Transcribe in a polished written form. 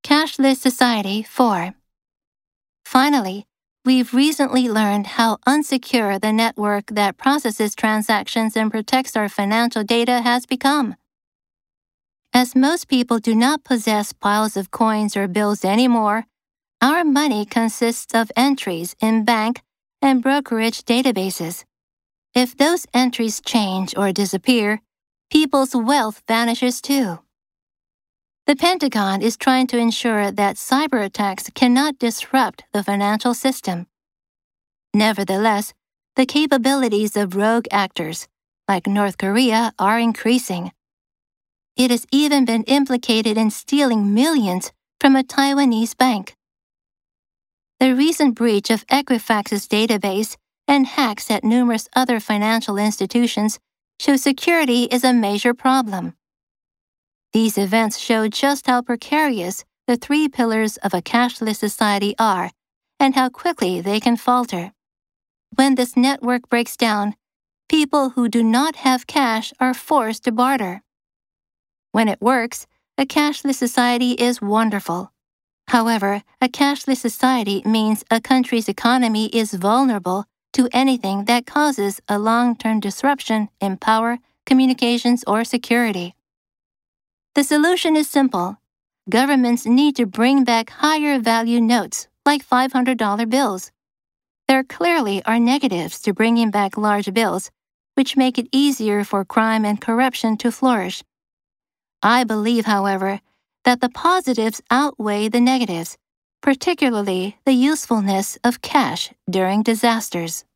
Cashless Society 4. Finally, we've recently learned how unsecure the network that processes transactions and protects our financial data has become. As most people do not possess piles of coins or bills anymore, our money consists of entries in bank and brokerage databases. If those entries change or disappear, people's wealth vanishes too. The Pentagon is trying to ensure that cyber attacks cannot disrupt the financial system. Nevertheless, the capabilities of rogue actors, like North Korea, are increasing. It has even been implicated in stealing millions from a Taiwanese bank. The recent breach of Equifax's database and hacks at numerous other financial institutions show security is a major problem. These events show just how precarious the three pillars of a cashless society are and how quickly they can falter. When this network breaks down, people who do not have cash are forced to barter. When it works, a cashless society is wonderful. However, a cashless society means a country's economy is vulnerable to anything that causes a long-term disruption in power, communications, or security. The solution is simple. Governments need to bring back higher-value notes, like $500 bills. There clearly are negatives to bringing back large bills, which make it easier for crime and corruption to flourish. I believe, however, that the positives outweigh the negatives, particularly the usefulness of cash during disasters.